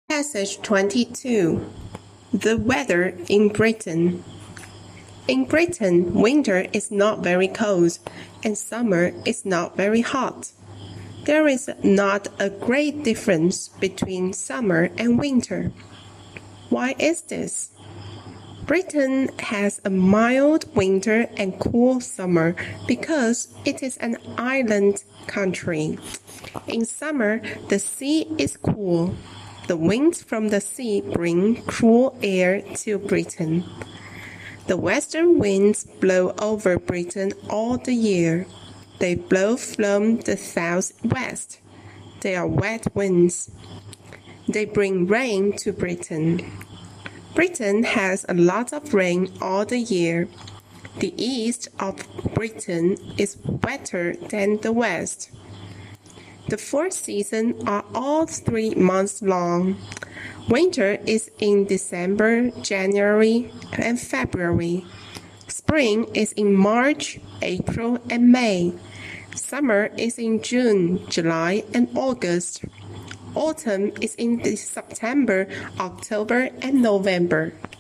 Passage 22. The weather in Britain. In Britain, winter is not very cold, and summer is not very hot. There is not a great difference between summer and winter. Why is this? Britain has a mild winter and cool summer because it is an island country. In summer, the sea is cool. The winds from the sea bring cool air to Britain. The western winds blow over Britain all the year. They blow from the southwest. They are wet winds. They bring rain to Britain. Britain has a lot of rain all the year. The east of Britain is wetter than the west. The 4 seasons are all 3 months long. Winter is in December, January, and February. Spring is in March, April, and May. Summer is in June, July, and August. Autumn is in September, October, and November.